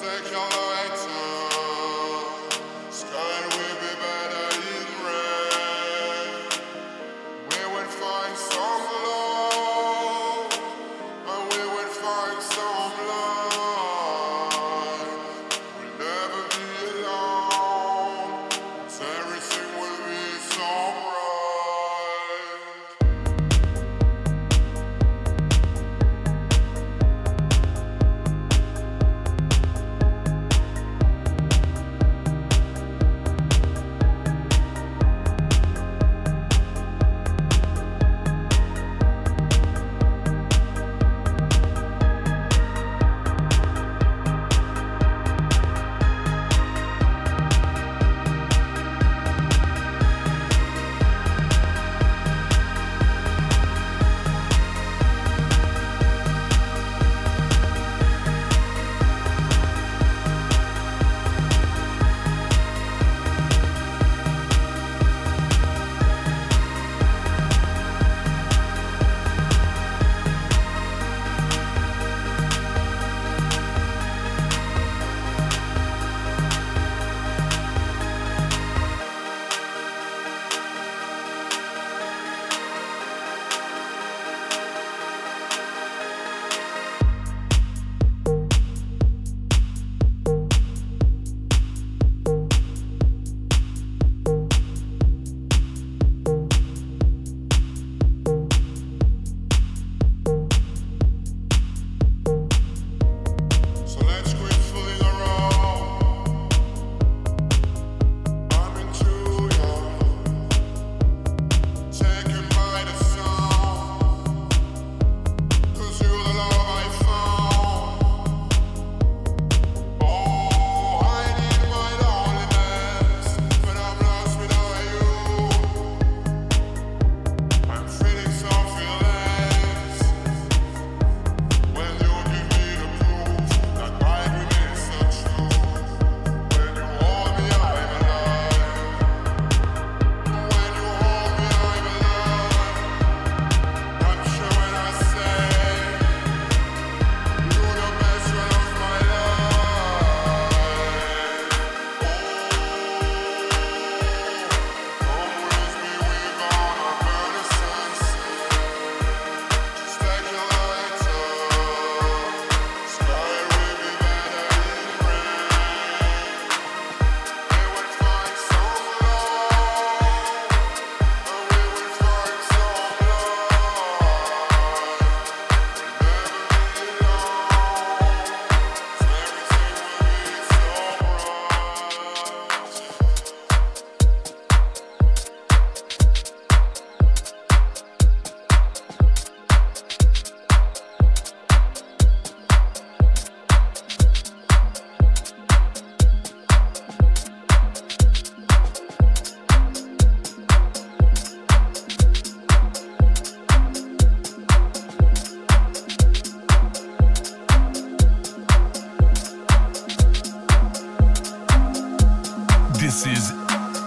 This is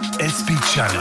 SP Channel.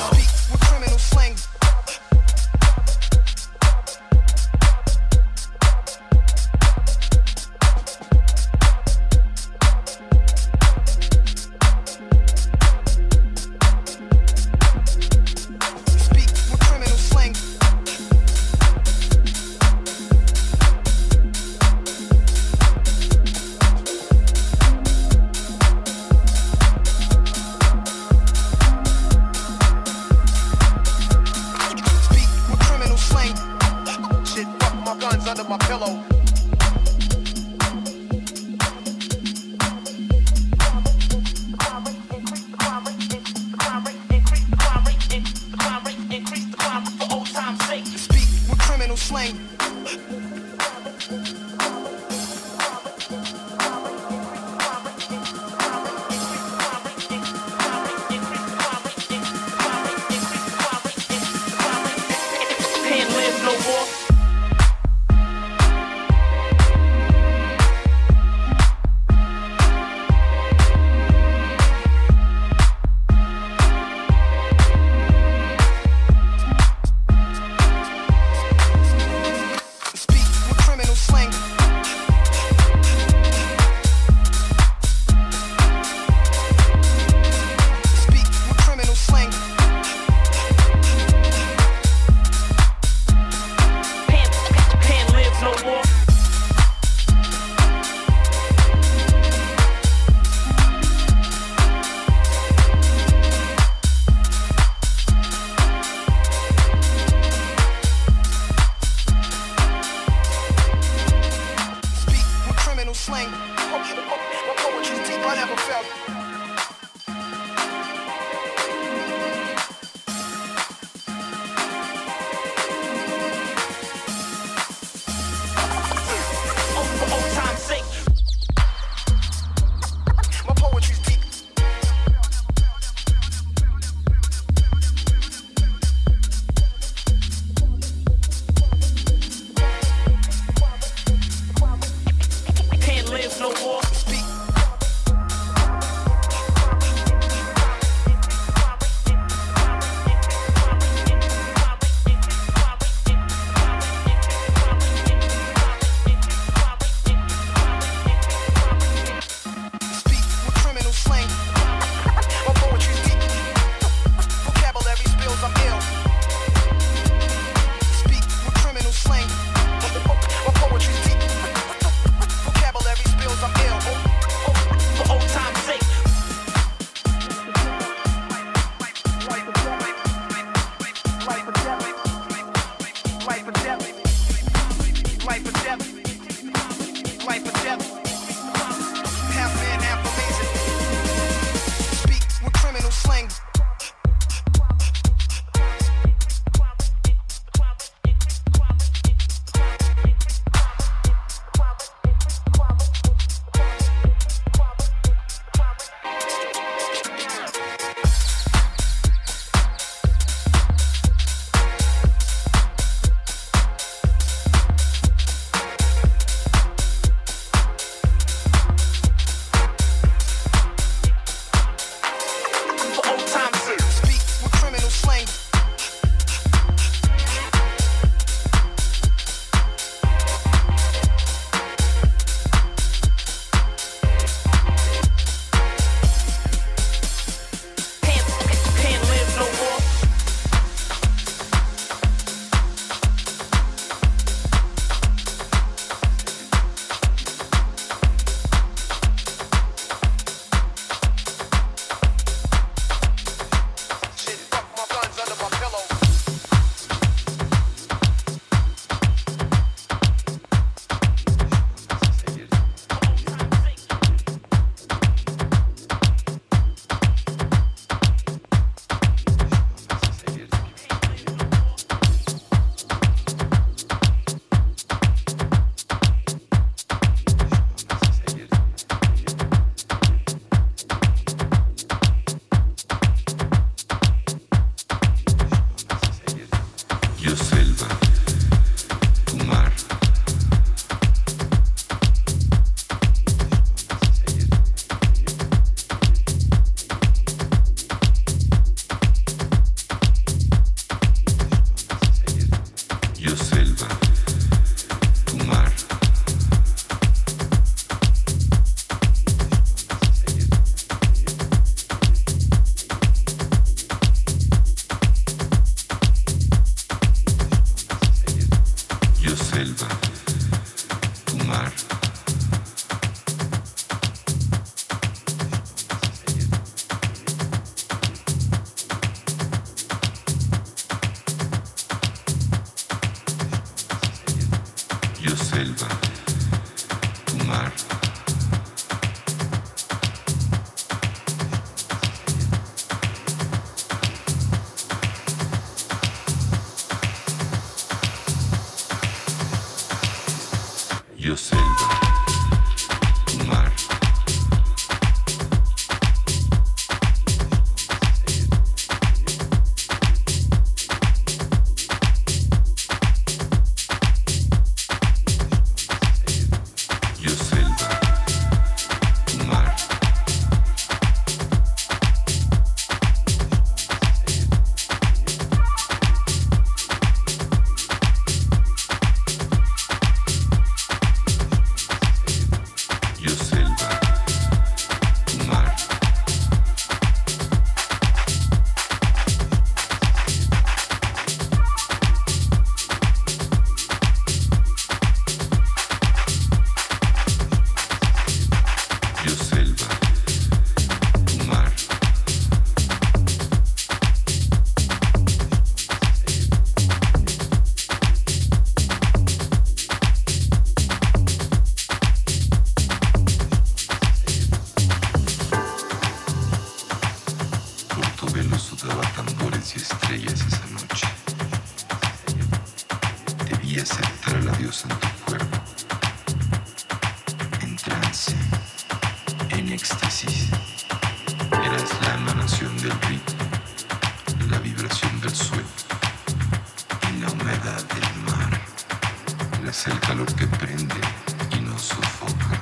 My poetry's deep, I never felt. For old time's sake. My poetry's deep. Can't live no more. Speak. Speak with criminal slang. My poetry's deep. Vocabulary spills, I'm ill. Speak with criminal slang. My poetry's deep. Vocabulary spills, I'm ill. For old time's sake. Life or death. Life or death. Life or death. Life or death. Life or death. Half man, half amazing. Speak with criminal slang. For old time's sake. Speak with criminal slang. Can't live no more. Shit, fuck my guns under my pillow. Yo selva, tu mar. Yo selva, tu mar. Yo selva, tu mar. Yo selva, tu mar. Yo selva, tu mar. Yo selva, tu mar. éxtasis. Eras la emanación del ritmo, la vibración del suelo y la humedad del mar. Eras el calor que prende y nos sofoca,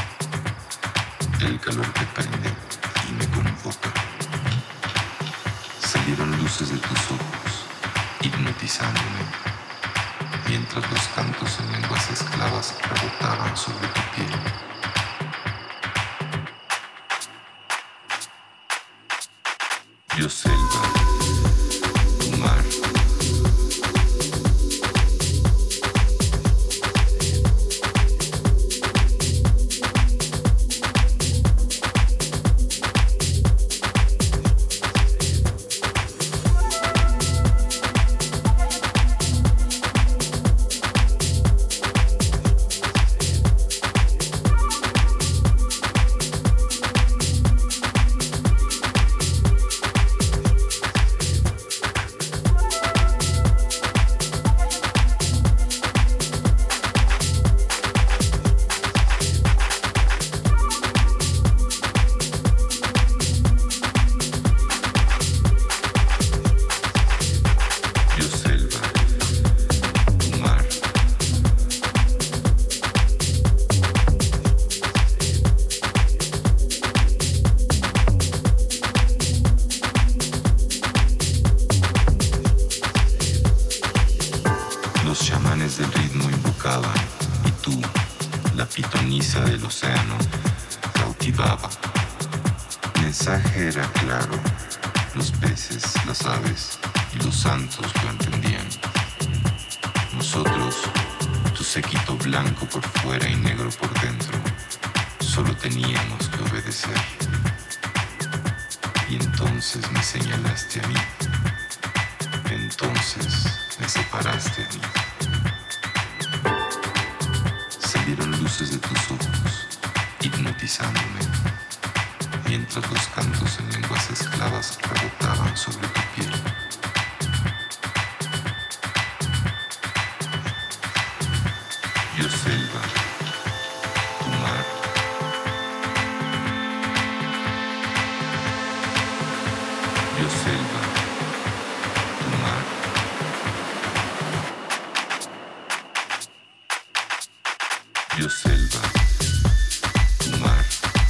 el calor que prende y me convoca. Salieron luces de tus ojos, hipnotizándome, mientras los cantos en lenguas esclavas rebotaban sobre tu piel. Yo selva, tu mar. Los chamanes del ritmo invocaban y tú, la pitonisa del océano, cautivaba. El mensaje era claro, los peces, las aves y los santos lo entendían. Nosotros, tu séquito blanco por fuera y negro por dentro, solo teníamos que obedecer. Y entonces me señalaste a mí. Entonces me separaste a mí. Salieron luces de tus ojos, hipnotizándome, mientras los cantos en lenguas esclavas rebotaban sobre tu piel. Yo selva, tu mar. Yo selva, tu mar. Yo selva, tu mar.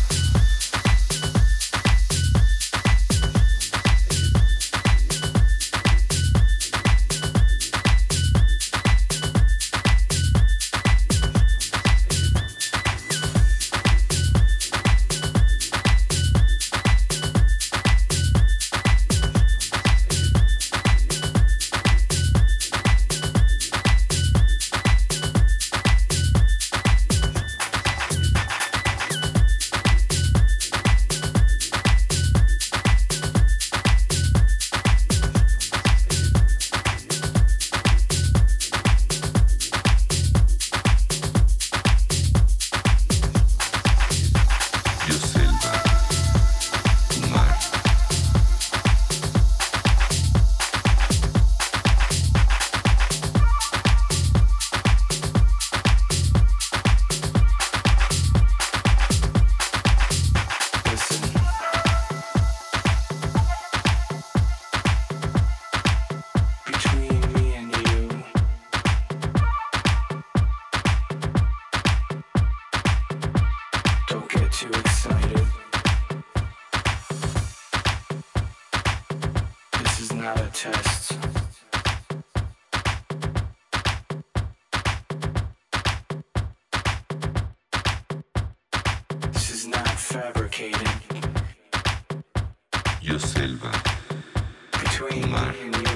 Yo selva, tu mar.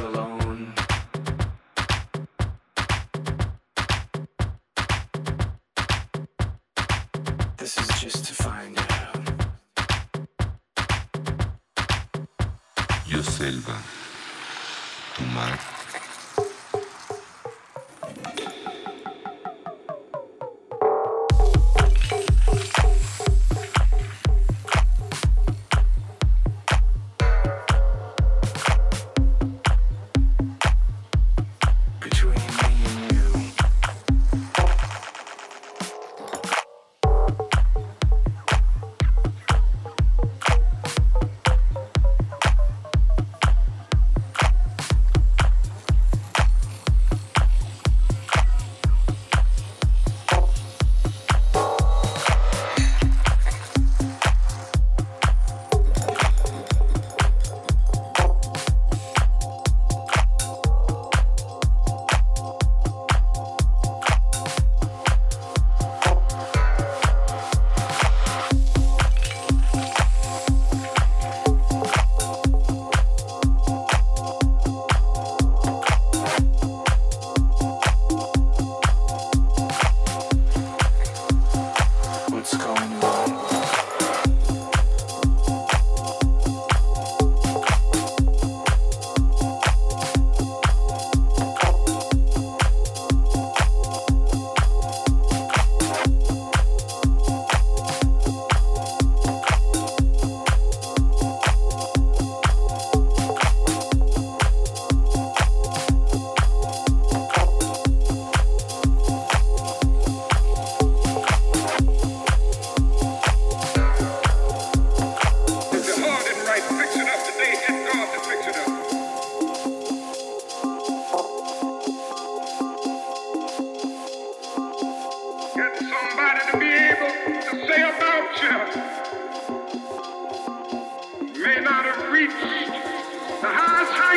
This is just to find out. Yo selva, tu mar.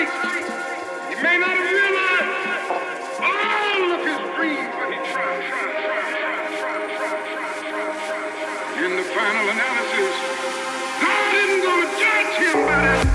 Christ. He may not have realized all of his dreams, but he tried. In the final analysis, God isn't going to judge him by that.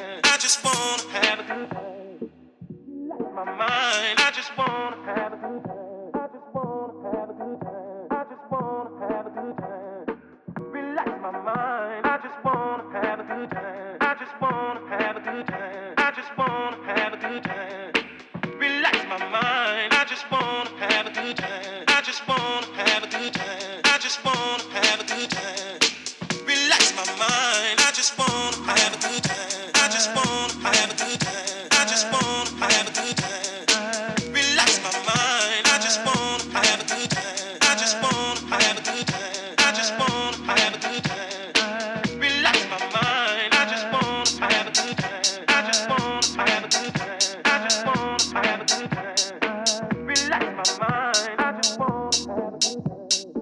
time. I just wanna have a good time. My mind, I just wanna have a good time. I just wanna have a good time. I just wanna have a good time. Relax my mind, I just wanna have a good time. I just wanna have a good time. I just wanna have a good time. Relax my mind, I just wanna have a good time. I just wanna have a good time. I just wanna have a good time. Relax my mind, I just wanna have a good time. I just wanna have a good time. I just wanna have a good time. Relax my mind, I just wanna have a good time. I just wanna have a good time. I just wanna have a good time. Relax my mind, I just wanna have a good time. I just wanna have a good time. I just wanna have a good time. Relax my mind, I just wanna have a good time.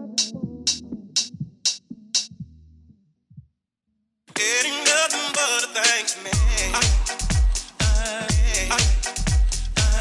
Getting nothing but a thanks, man.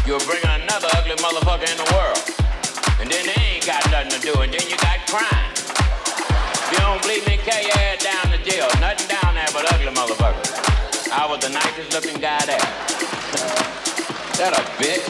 you're bringing another ugly motherfucker in the world. And then they ain't got nothing to do, and then you got crime. If you don't believe me, carry your head down to jail. Nothing down there but ugly motherfuckers. I was the nicest looking guy there. That a bitch.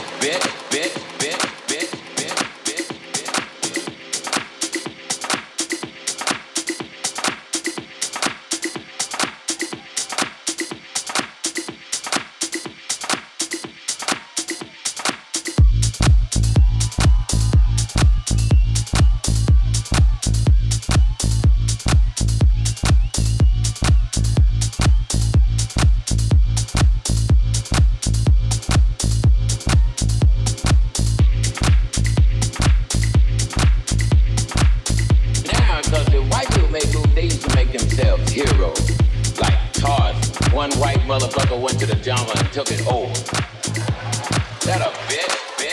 Took it over. That a bitch.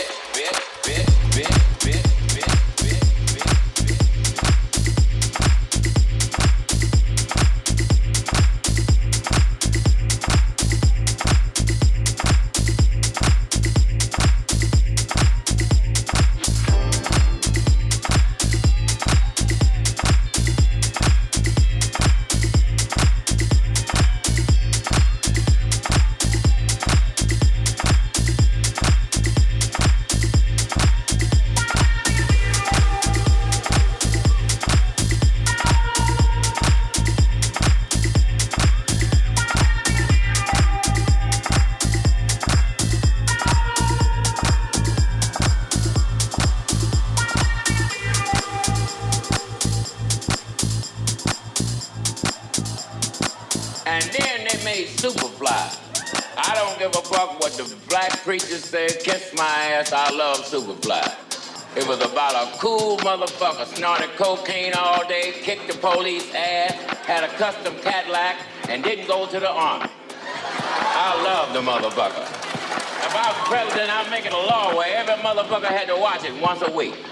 Preachers said, kiss my ass, I love Superfly. It was about a cool motherfucker, snorted cocaine all day, kicked the police ass, had a custom Cadillac, and didn't go to the army. I love the motherfucker. If I was president, I'd make it a law where every motherfucker had to watch it once a week.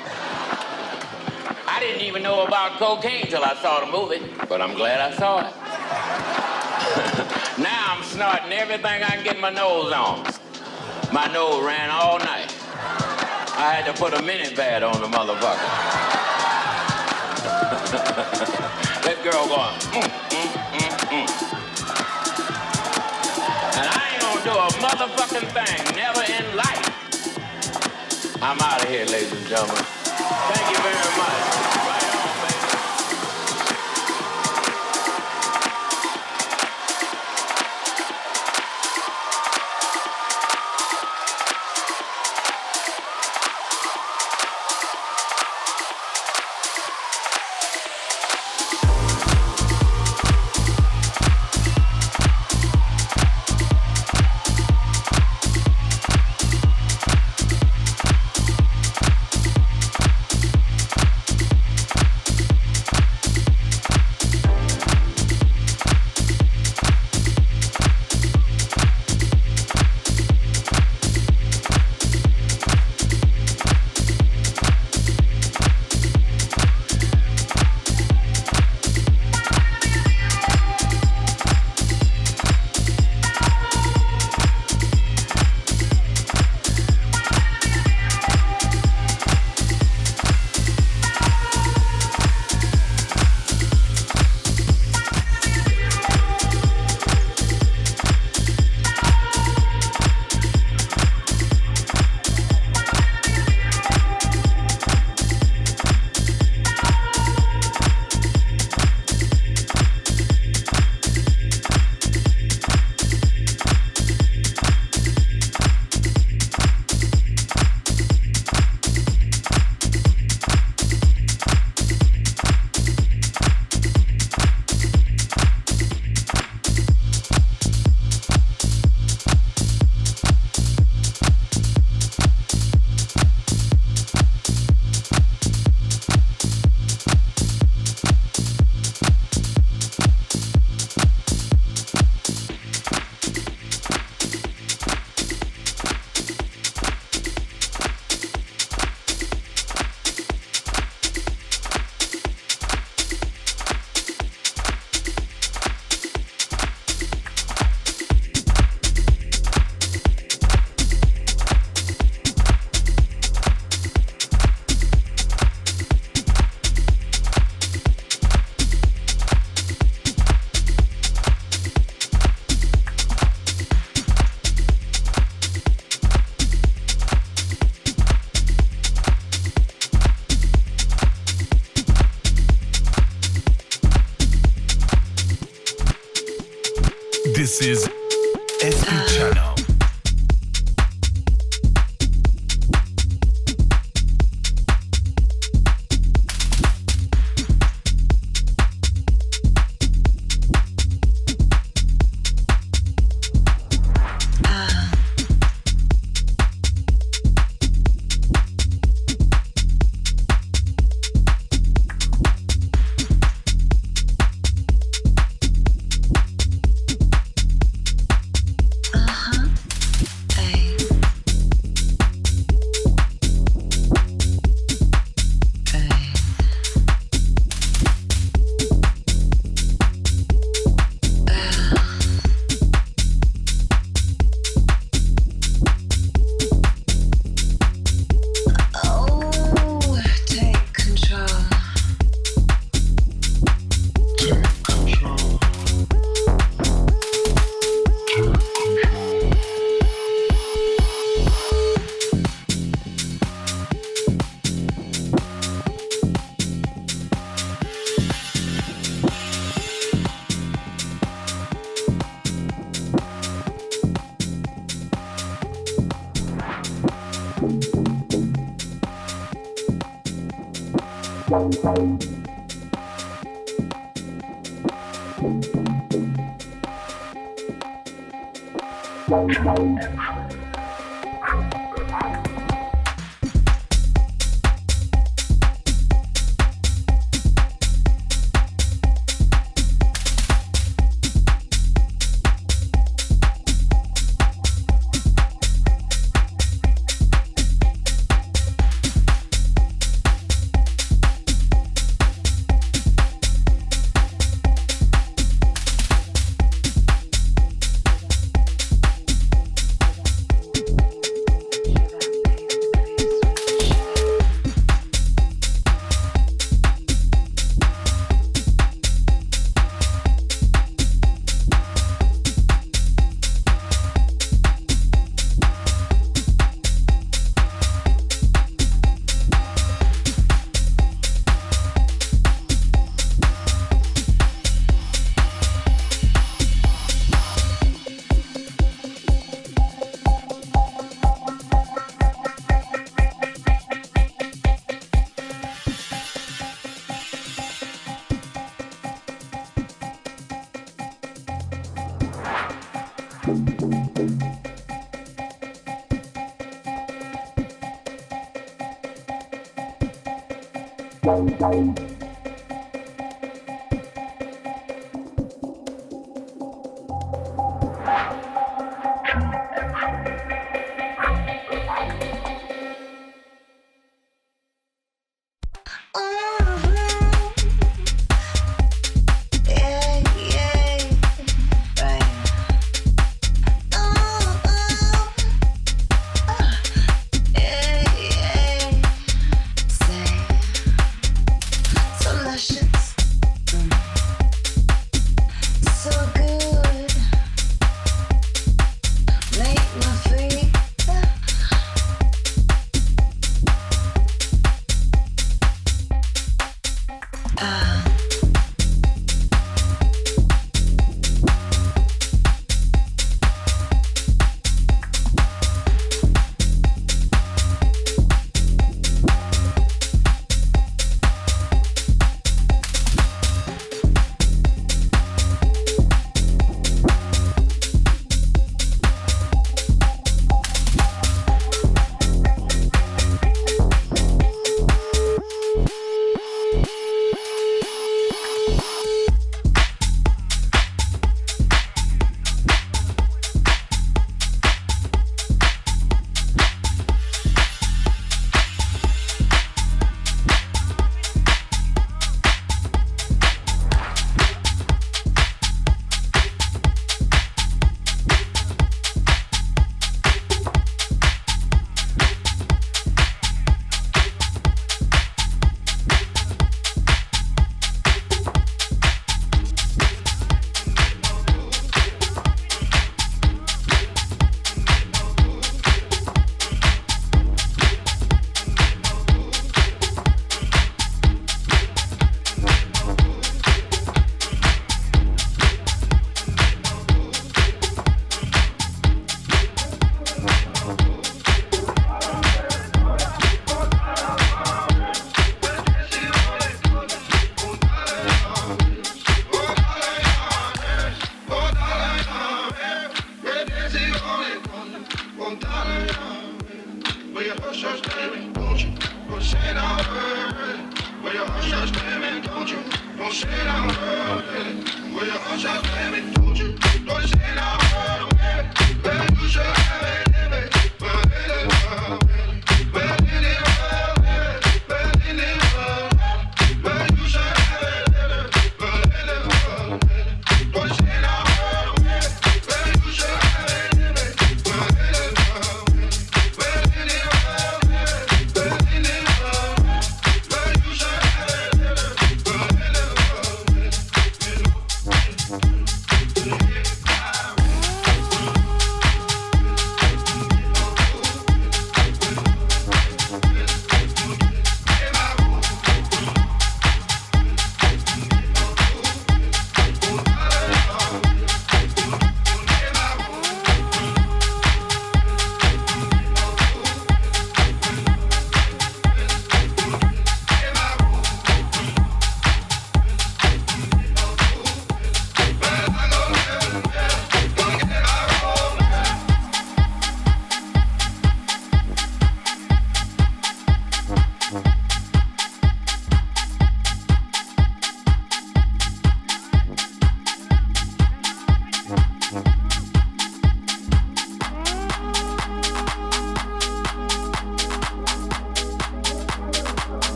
I didn't even know about cocaine till I saw the movie, but I'm glad I saw it. Now I'm snorting everything I can get my nose on. My nose ran all night. I had to put a mini pad on the motherfucker. That girl going, And I ain't gonna do a motherfucking thing, never in life. I'm out of here, ladies and gentlemen. Thank you very much. This is SP Channel.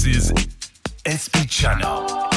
This is SP Channel.